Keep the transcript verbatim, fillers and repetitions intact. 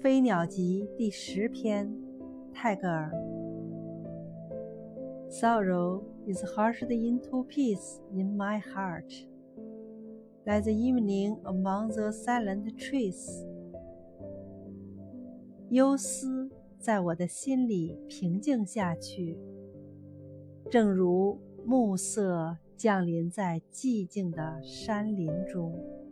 飞鸟集第十篇，泰戈尔。Sorrow is hushed into peace in my heart, like the evening among the silent trees. 忧思在我的心里平静下去，正如暮色降临在寂静的山林中。